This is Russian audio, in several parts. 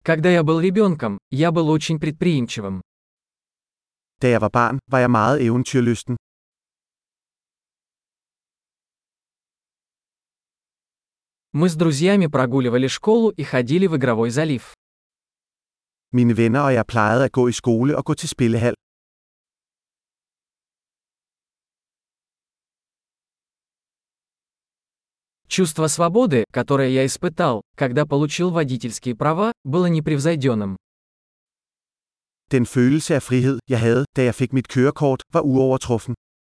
Когда я был ребенком, я был очень предприимчивым. Da jeg var barn, var jeg meget eventyrlysten. Мы с друзьями прогуливали школу и ходили в игровой залив. Mine venner og jeg plejede at gå i skole og gå til spillehal. Чувство свободы, которое я испытал, когда получил водительские права, было непревзойденным. Den følelse af frihed, jeg havde, da jeg fik mit kørekort, var uovertruffen.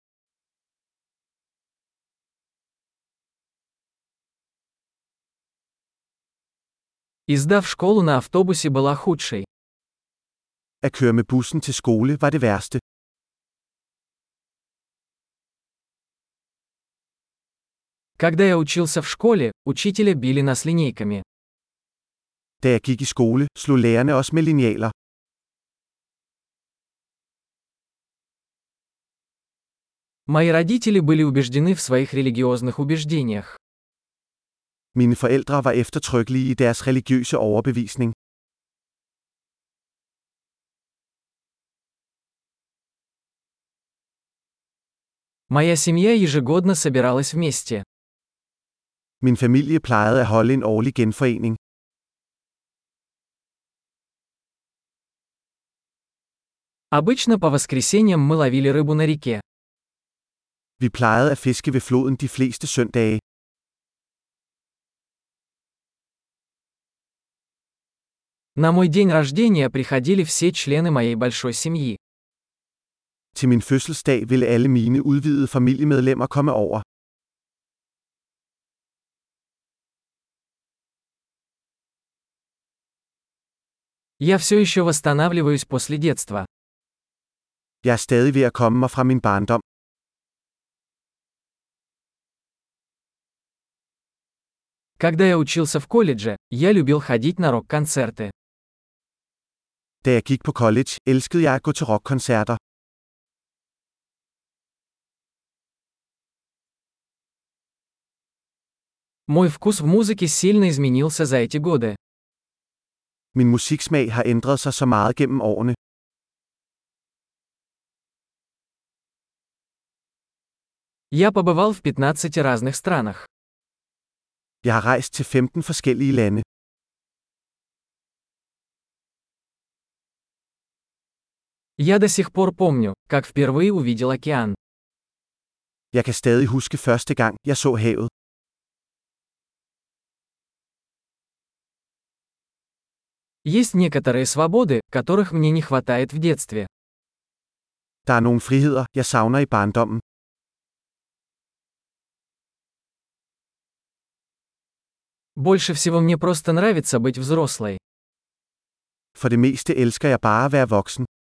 Езда в школу на автобусе была худшей. At køre med bussen til skole var det værste. Когда я учился в школе, учителя били нас линейками. Da jeg gik i skole, slog lærerne os med linealer. Мои родители были убеждены в своих религиозных убеждениях. Mine forældre var eftertrykkelige i deres religiøse overbevisning. Моя семья ежегодно собиралась вместе. Min familie plejede at holde en årlig genforening. Обычно по воскресеньям мы ловили рыбу на реке. Vi plejede at fiske ved floden de fleste søndage. На мой день рождения приходили все члены моей большой семьи. Til min fødselsdag ville alle mine udvidede familiemedlemmer komme over. Я все еще восстанавливаюсь после детства. Jeg er stadig ved at komme mig fra min barndom. Когда я учился в колледже, я любил ходить на рок-концерты. Da jeg gik på college, elskede jeg at gå til rockkoncerter. Мой вкус в музыке сильно изменился за эти годы. Min musiksmag har ændret sig så meget gennem årene. Я побывал в 15 разных странах. Jeg har rejst til 15 forskellige lande. Я до сих пор помню, как впервые увидел океан. Jeg kan stadig huske første gang, jeg så havet. Есть некоторые свободы, которых мне не хватает в детстве. Der er nogle friheder, jeg savner i barndommen. Больше всего мне просто нравится быть взрослой. For det meste elsker jeg bare at være voksen.